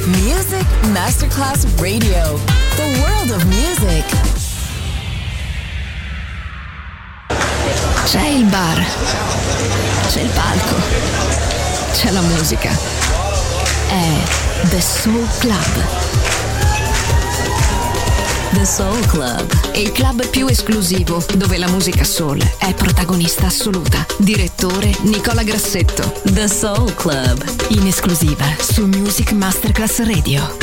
Music Masterclass Radio. The world of music. C'è il bar, c'è il palco, c'è la musica. È The Soul Club. The Soul Club, il club più esclusivo dove la musica soul è protagonista assoluta. Direttore Nicola Grassetto. The Soul Club, in esclusiva su Music Masterclass Radio.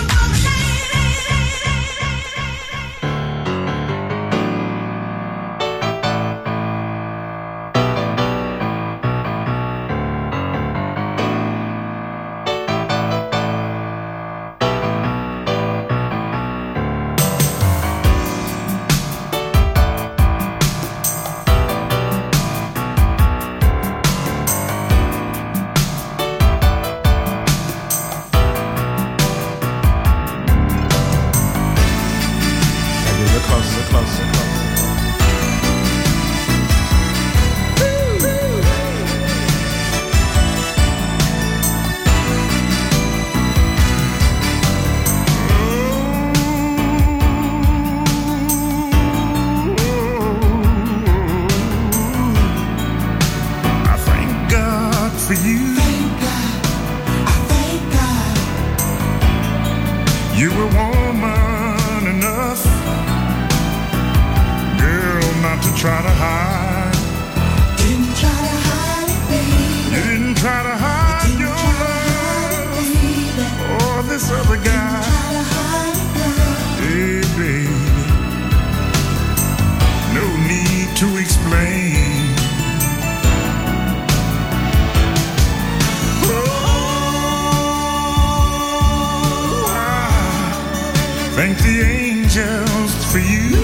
Thank the angels for you.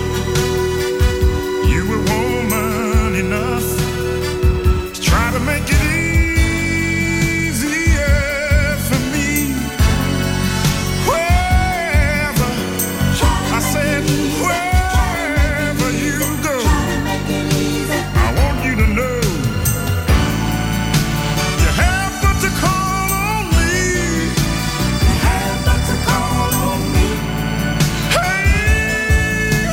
You were woman enough to try to make it easier for me. Wherever, I said, wherever you go, I want you to know you have but to call on me. You have but to call on me. Hey,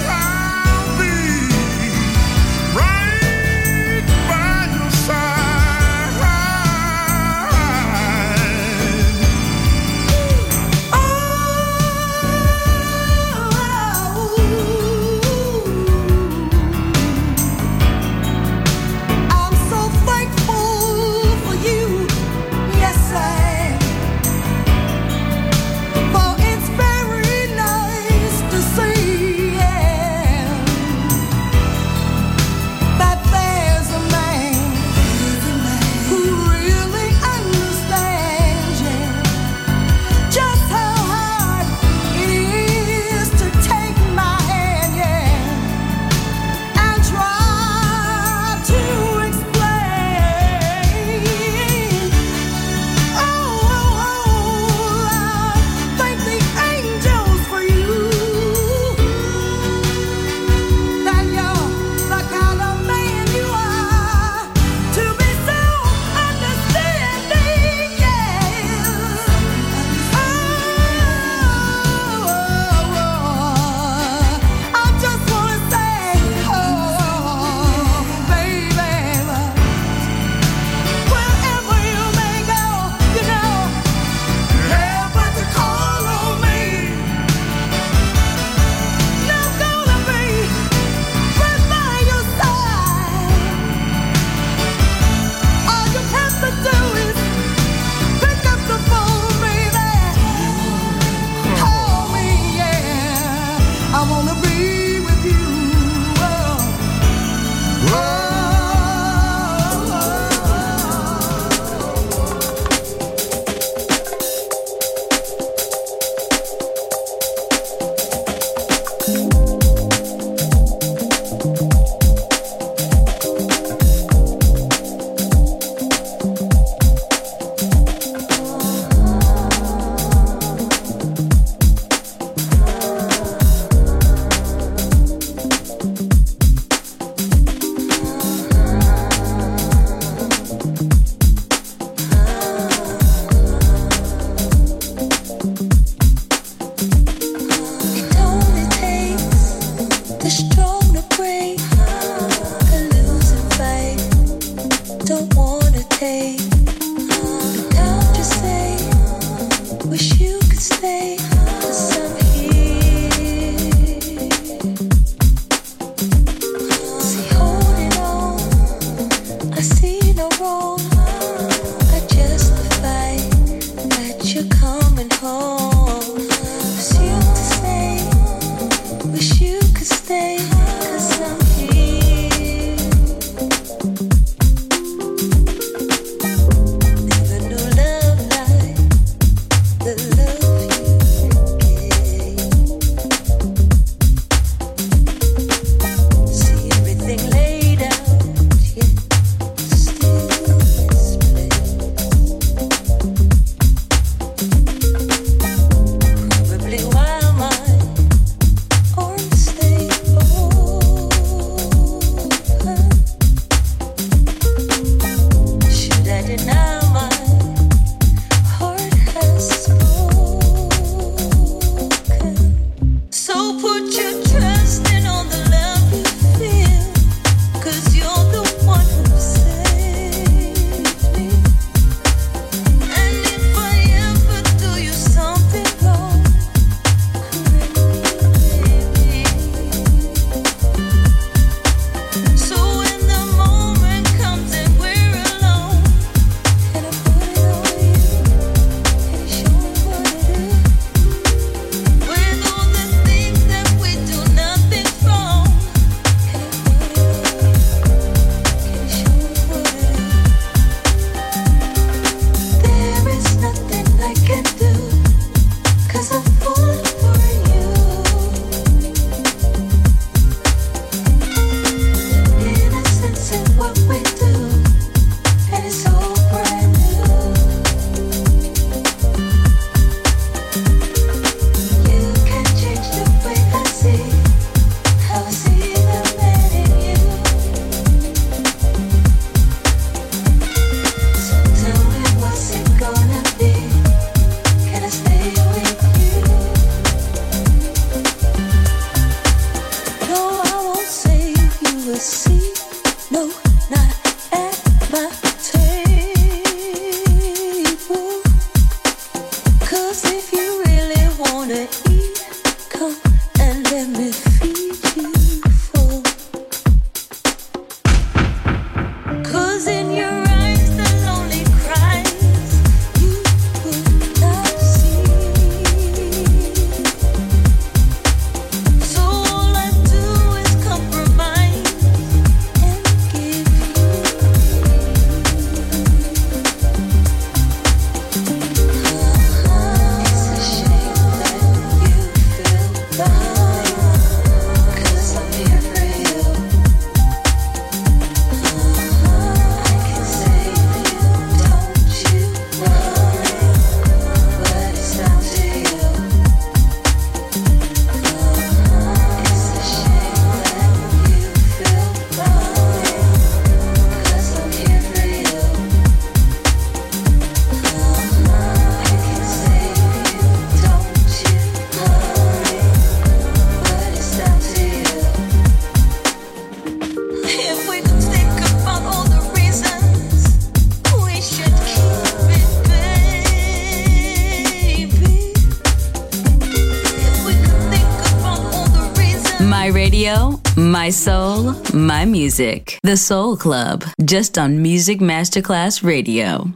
radio, my soul, my music. The Soul Club, just on Music Masterclass Radio.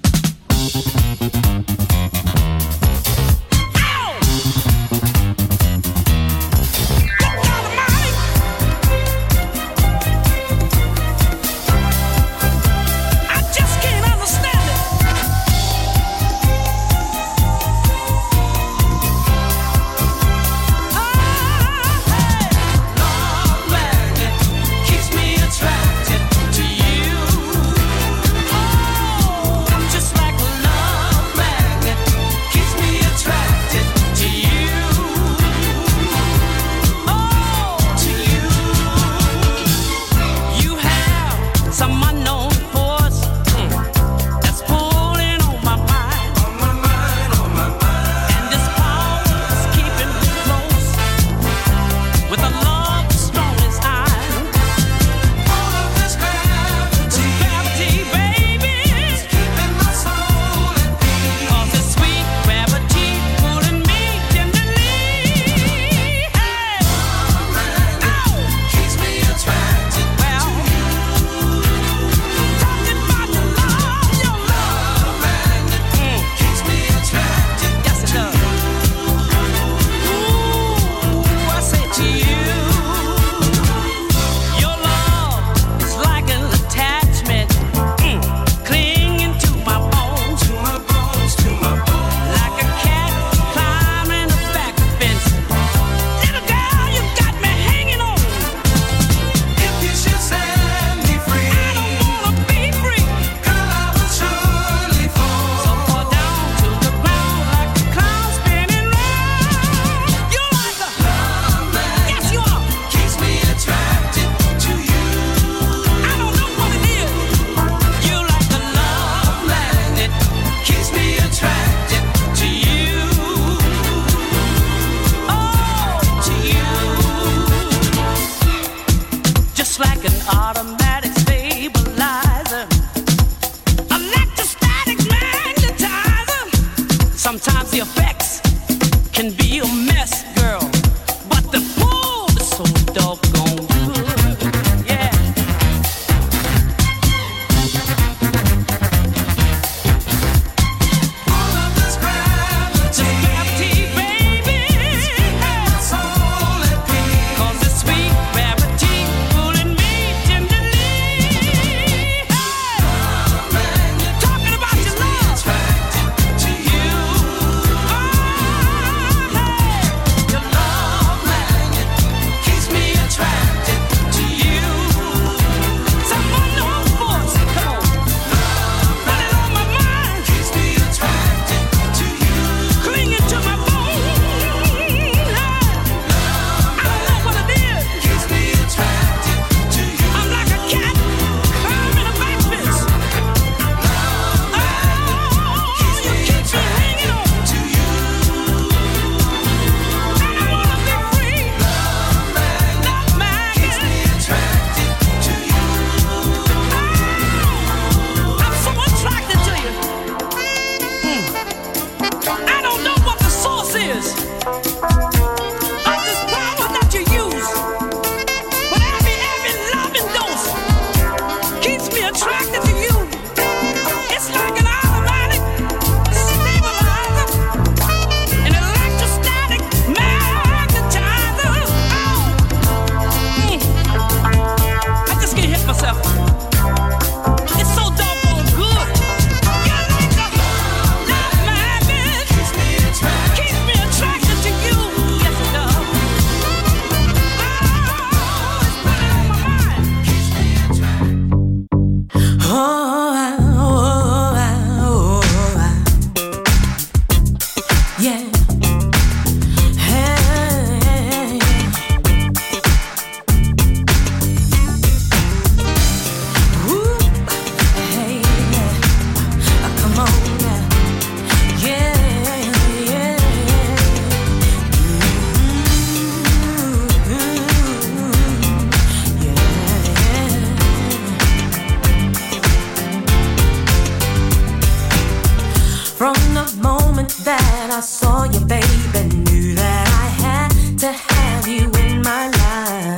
that I saw you, baby, knew that I had to have you in my life.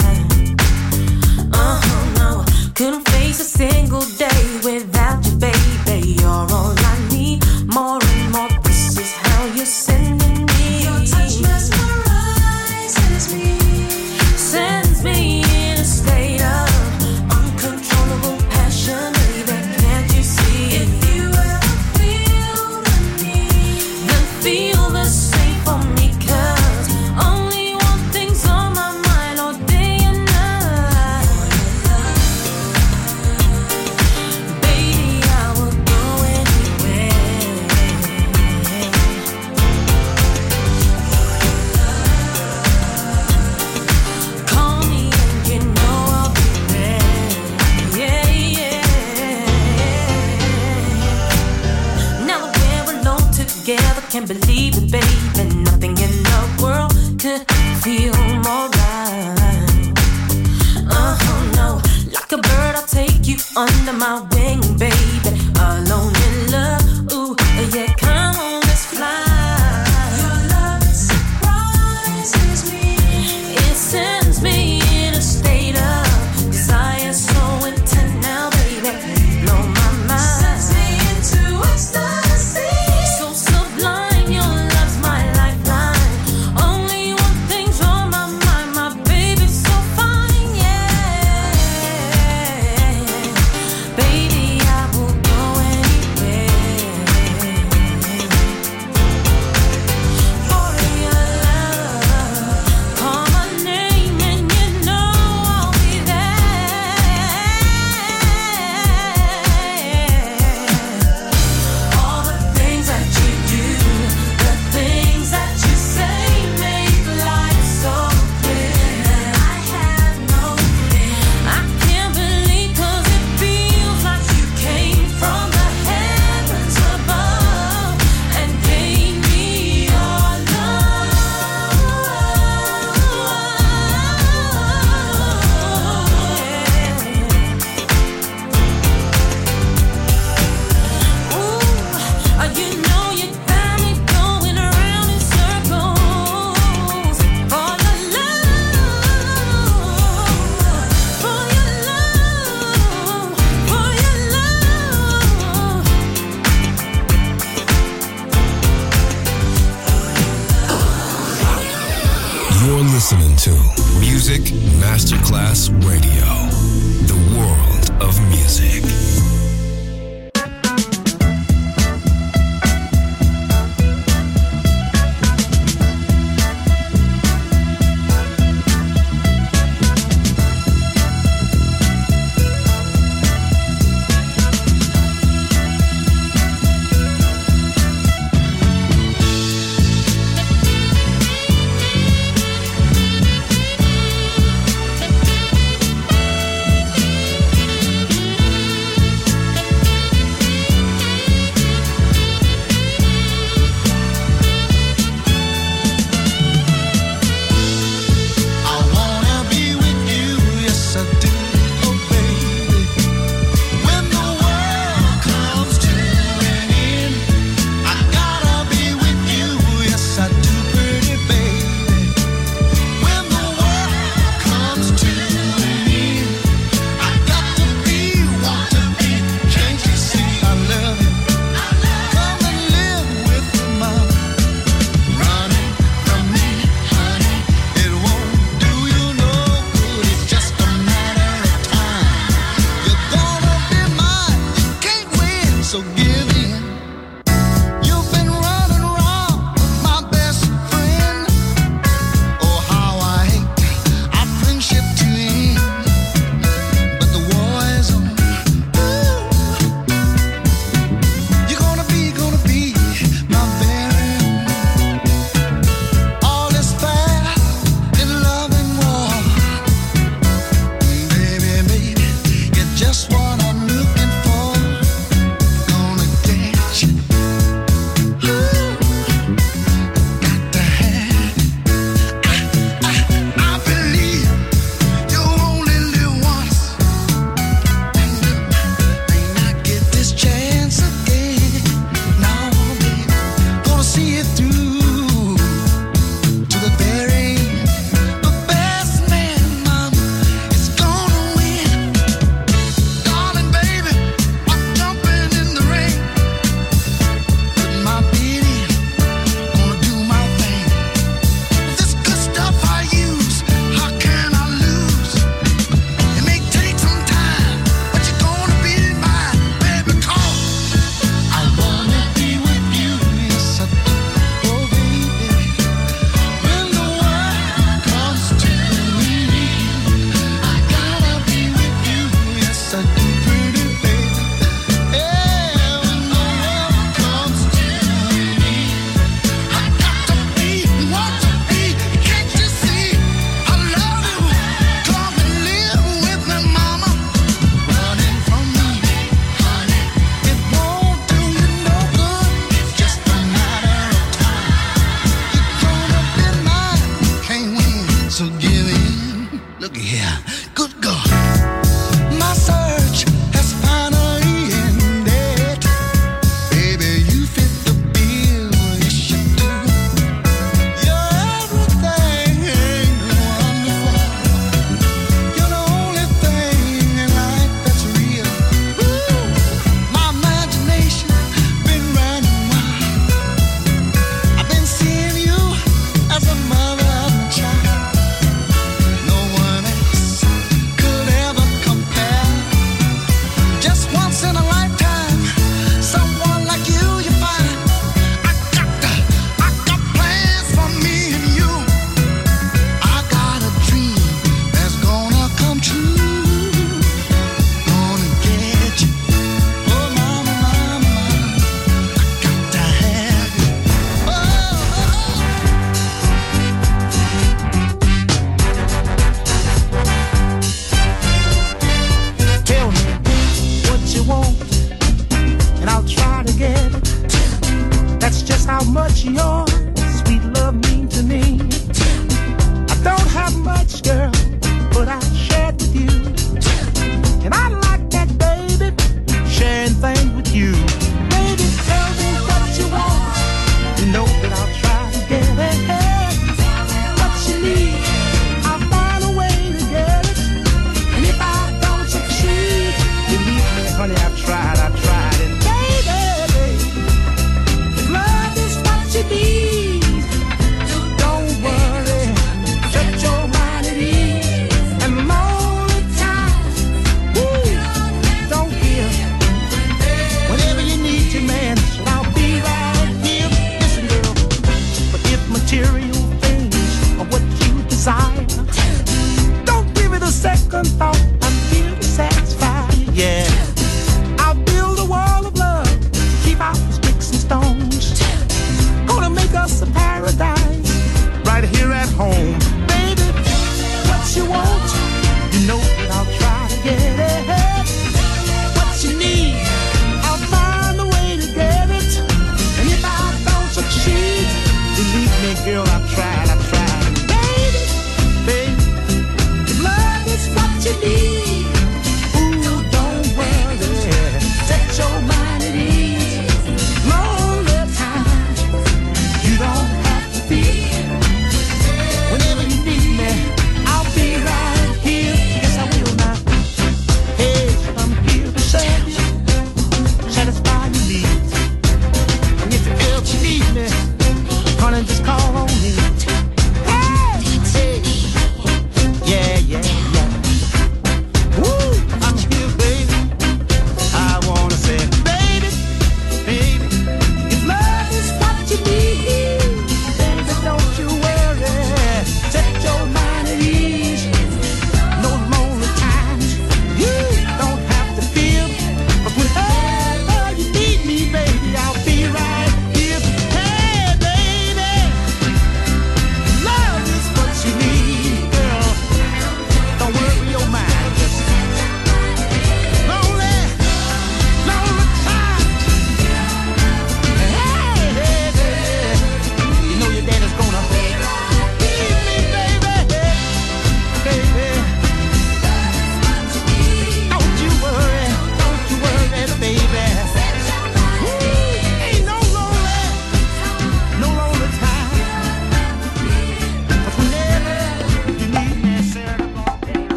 together, can't believe it, baby. Nothing in the world could feel more right. No, like a bird, I'll take you under my wing, baby. Alone in love, ooh, yeah, come on, let's fly. Your love surprises me. It sends me in a state of desire so intense now, baby. Blow my mind. Sends me into ecstasy. So sublime, your love's my lifeline. Only one thing's on my mind, my baby's so fine, yeah. Baby, I will go anywhere for your love. Call my name and you know I'll be there. All the things that you do, the things that you say make life so clear. I have no fear. I can't believe 'cause it feels like you came from the heavens above and gave me your love. Ooh, you know you got me going around in circles for your love, for your love, for your love. You're listening to Music Masterclass Radio, the world of music.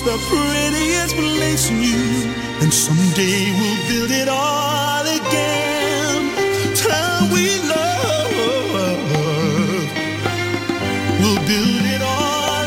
promised the prettiest place in you, and someday we'll build it all again. Time we love, we'll build it all.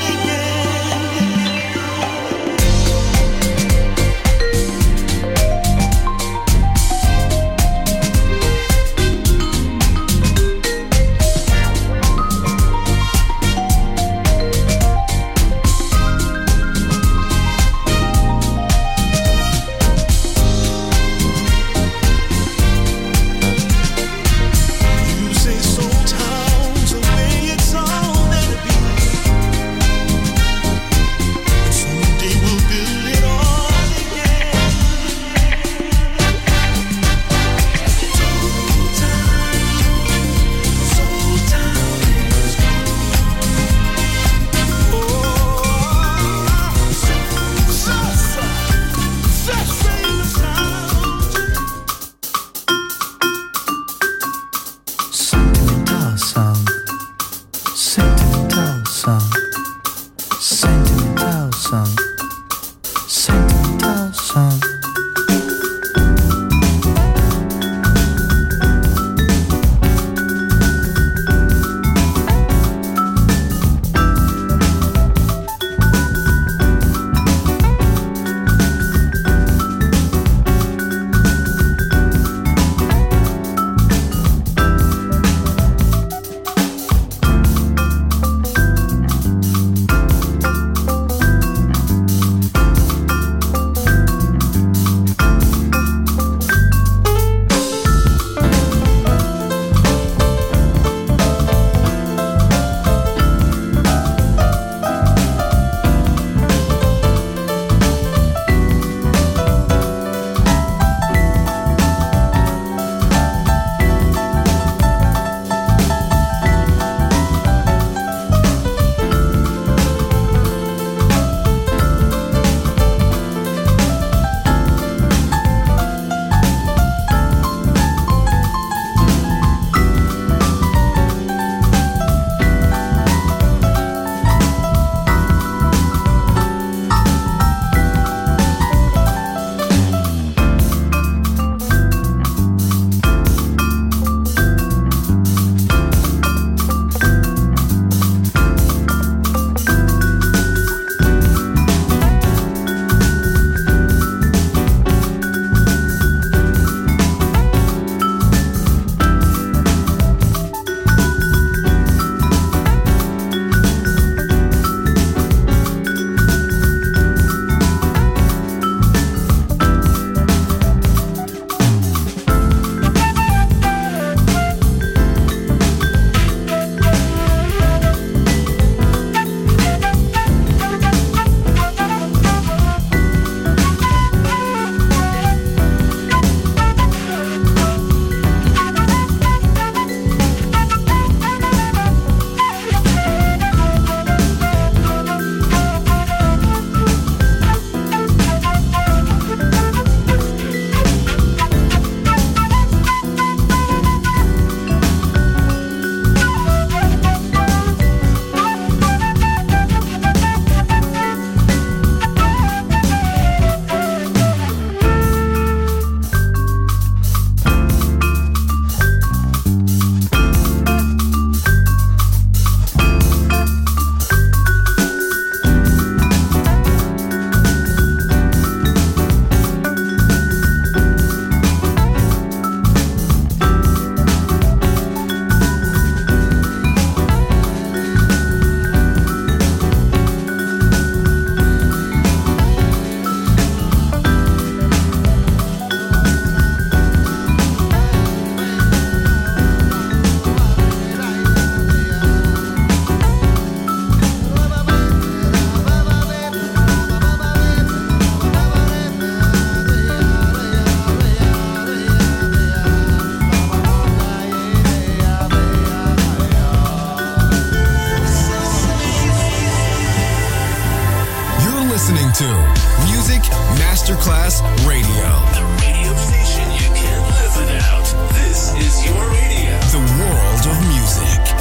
to Music Masterclass Radio. The radio station you can't live without. This is your radio. The world of music.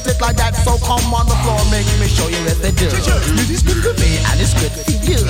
want it like that, so come on the floor, make me show you what they do. Music's good for me and it's good for you.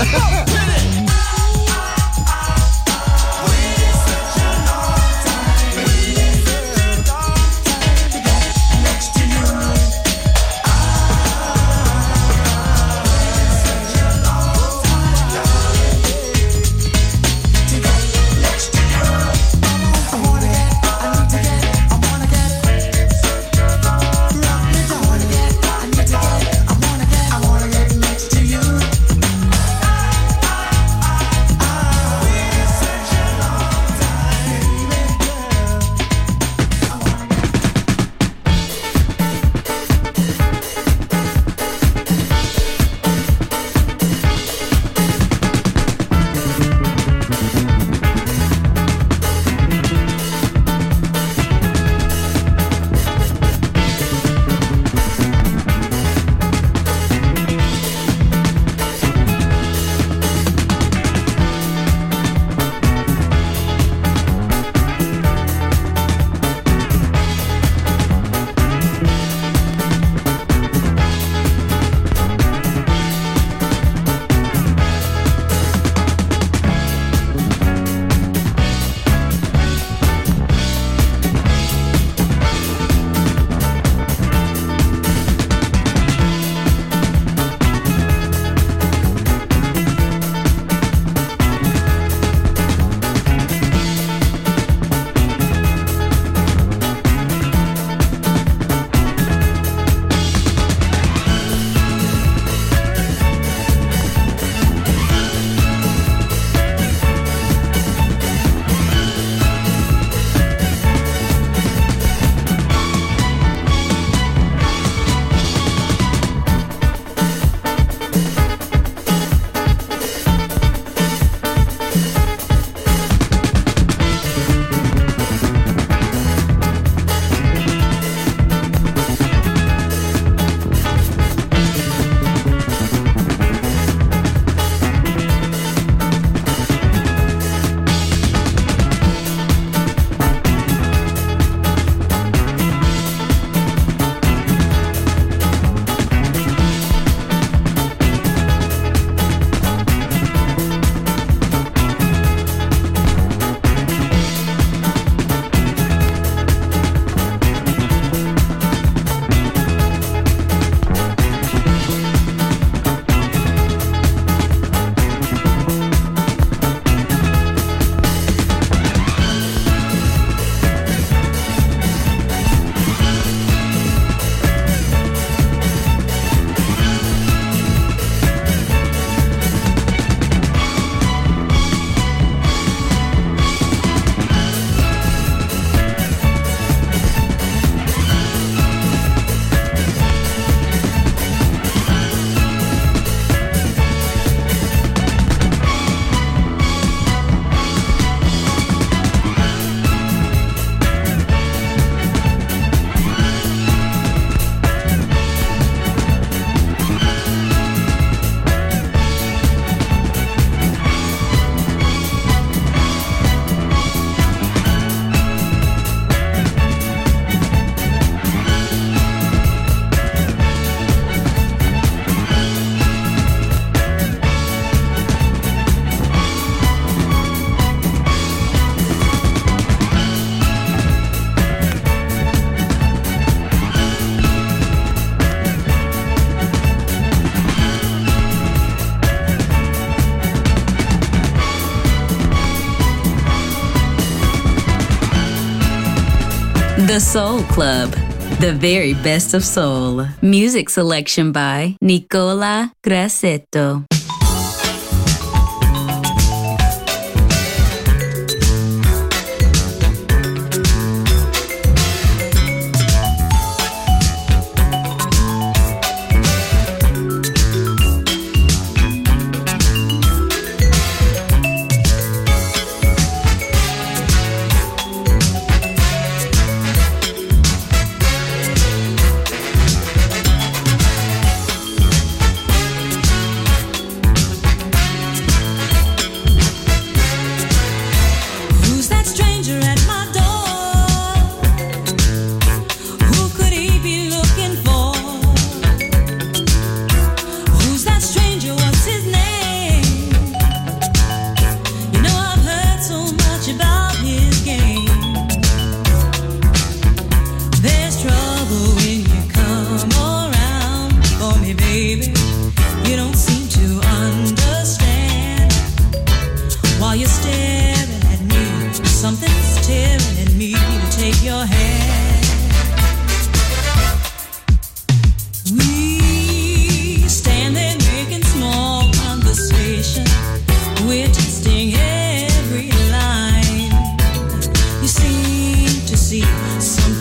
The Soul Club, the very best of soul. Music selection by Nicola Grassetto.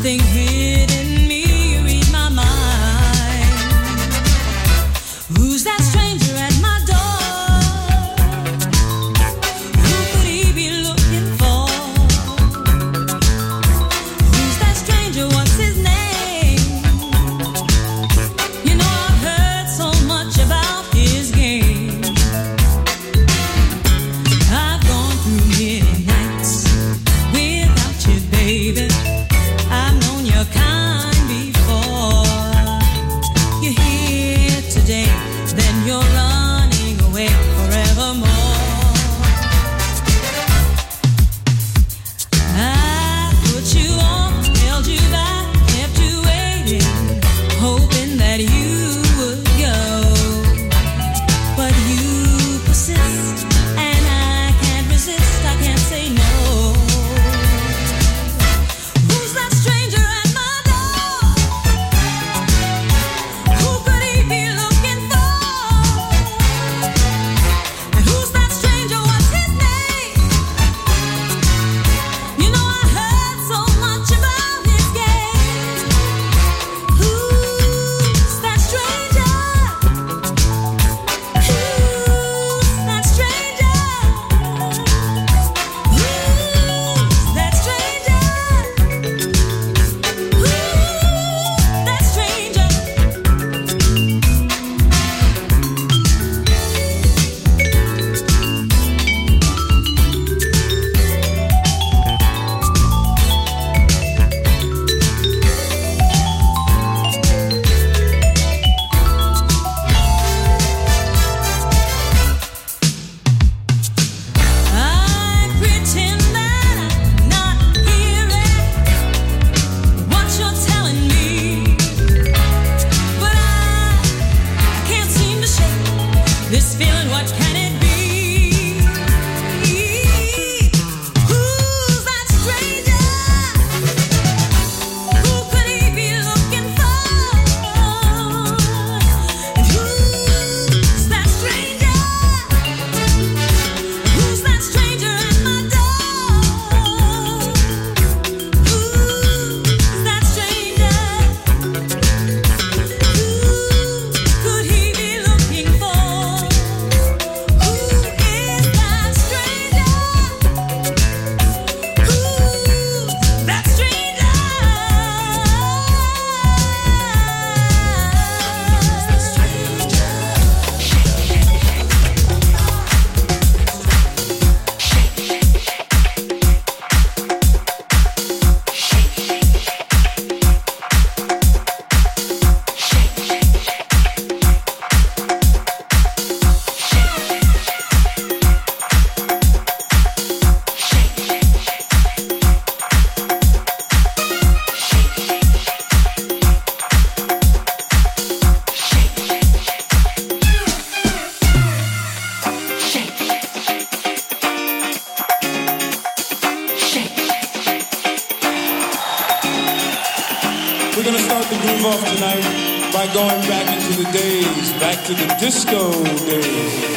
something hid in me, read my mind. Who's that stranger at my door? Who could he be looking for? Who's that stranger? What's his name? You know I've heard so much about his game. I've gone through many nights without you, baby. I've known your kind before. You're here today, then you're running away forevermore. I put you on, held you back, kept you waiting, hoping that you would go. But you persist, and I can't resist, I can't say no. Who's that stranger at my door? Who could he be looking for? And who's that stranger? What's his name? You know I heard so much about his game. Who's that stranger? Who's that stranger? Who's that stranger? I pretend that I'm not hearing what you're telling me, but I can't seem to shake this feeling. What can it be? Who's that stranger? Who could he be looking for? And who's that stranger? Who's that stranger at my door? Who's that stranger? Who could he be looking for? Who is that stranger? Who's that stranger? We're gonna start the groove off tonight by going back into the days, back to the disco days.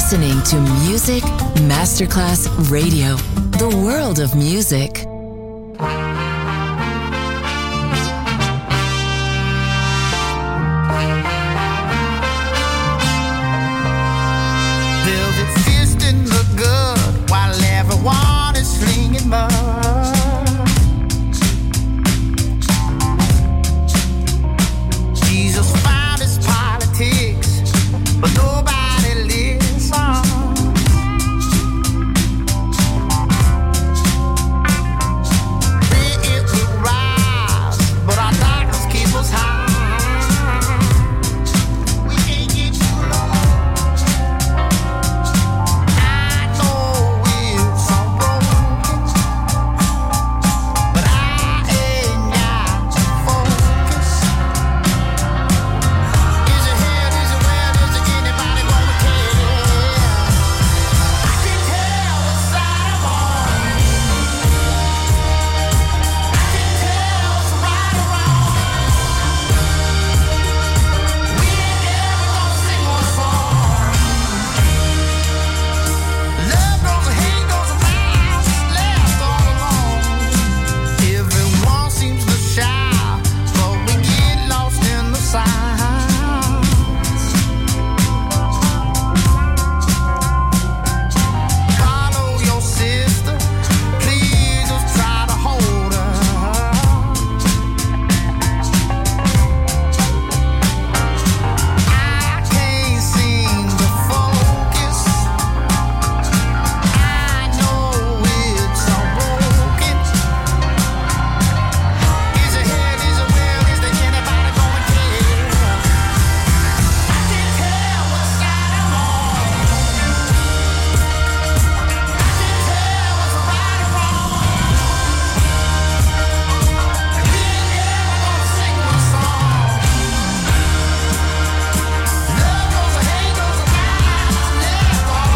listening to Music Masterclass Radio, the world of music. Velvet fist in the good while everyone is slinging mud. Jesus found his politics, but nobody listens. It will rise, but our darkness keeps us high. We can't get too low. I know we're so broken, but I ain't got to focus. Is it here? Is it where? Is it anybody gonna care? I can tell what side I'm on. I can tell what's right or wrong. We ain't ever gonna sing one song. Love goes and hate goes and miles left all alone. Everyone seems to shout, but we get lost in the sound. Follow your sister, please just try to hold her. I can't seem to focus. I know it's so broken. Is it here? Is it where? Is there anybody gonna care? I can tell what side I'm on. I can tell what's right or wrong. We ain't ever gonna sing one song. Love goes and hate goes and miles left all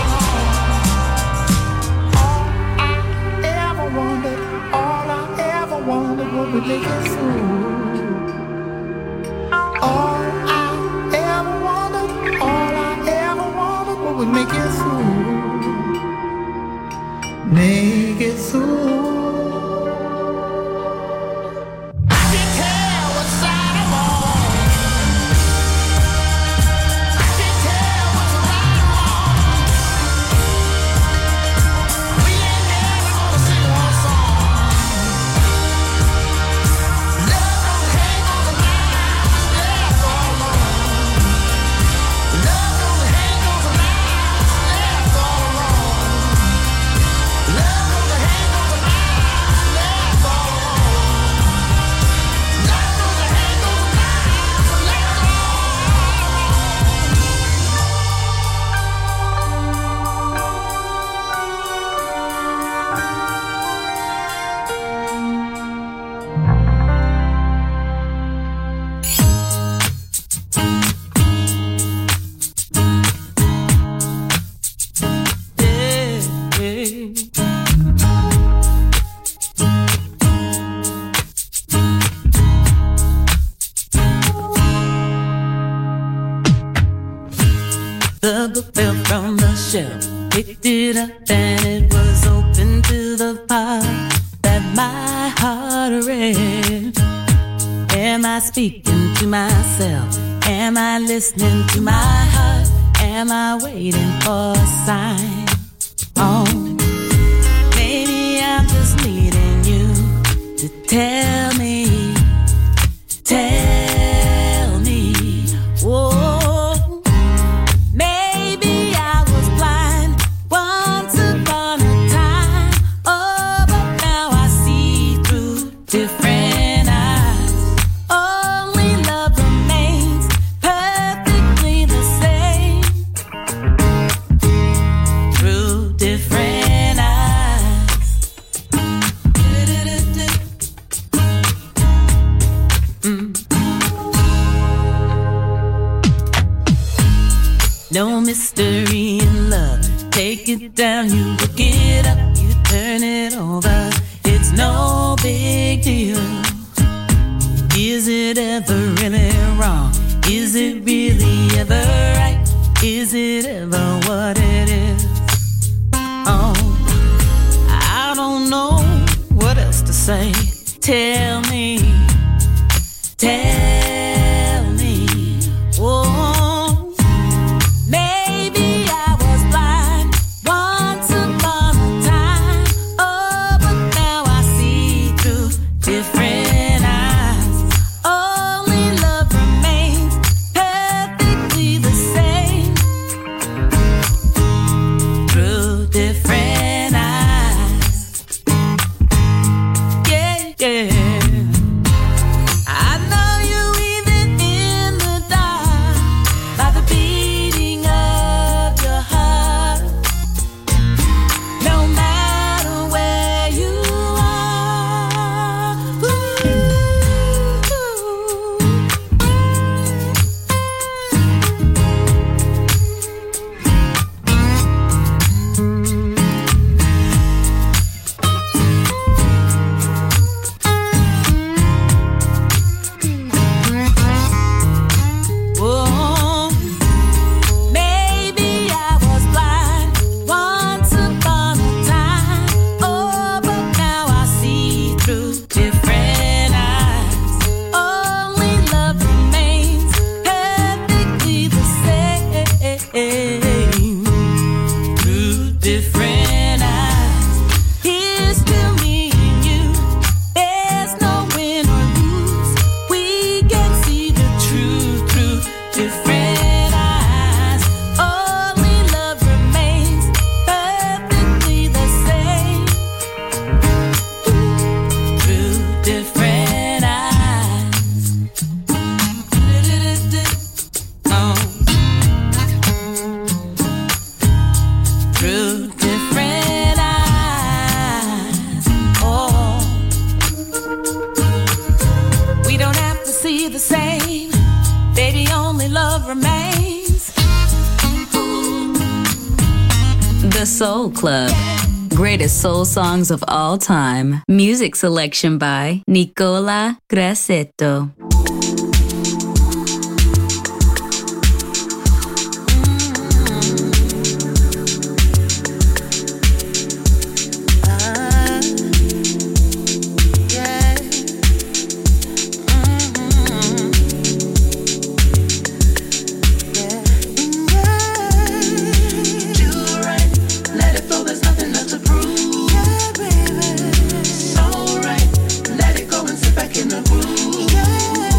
alone. All I ever wanted was to make it through. All I ever wanted was to make it through. Make it through. I can tell what side I'm on. I can tell what's right or wrong. We ain't never gonna sing one song. Love goes and hate goes and miles left all alone. Love goes and hate goes and miles left all alone. Love goes and hate goes and miles left all alone. Love goes and hate goes and miles left all The book fell from the shelf, picked it up and it was open to the part that my heart read. Am I speaking to myself? Am I listening to my heart? Am I waiting for a sign? Oh, maybe I'm just needing you to tell me. Whoa, maybe I was blind once upon a time. Oh, but now I see through different eyes. Only love remains perfectly the same through different eyes. No mystery in love. Take it down, you look it up, you turn it over. It's no big deal. Is it ever really wrong? Is it really ever right Is it ever what it is? Oh, I don't know what else to say. Tell me, oh, maybe I was blind once upon a time. Oh, but now I see through different eyes. Only love remains perfectly the same through different eyes. Yeah, yeah. The Soul Club. Greatest soul songs of all time. Music selection by Nicola Grassetto. Back in the groove. Yeah.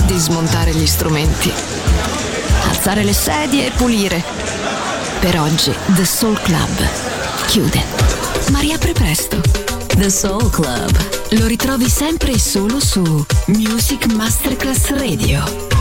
di smontare gli strumenti, alzare le sedie e pulire. Per oggi The Soul Club chiude, ma riapre presto. The Soul Club. Lo ritrovi sempre e solo su Music Masterclass Radio.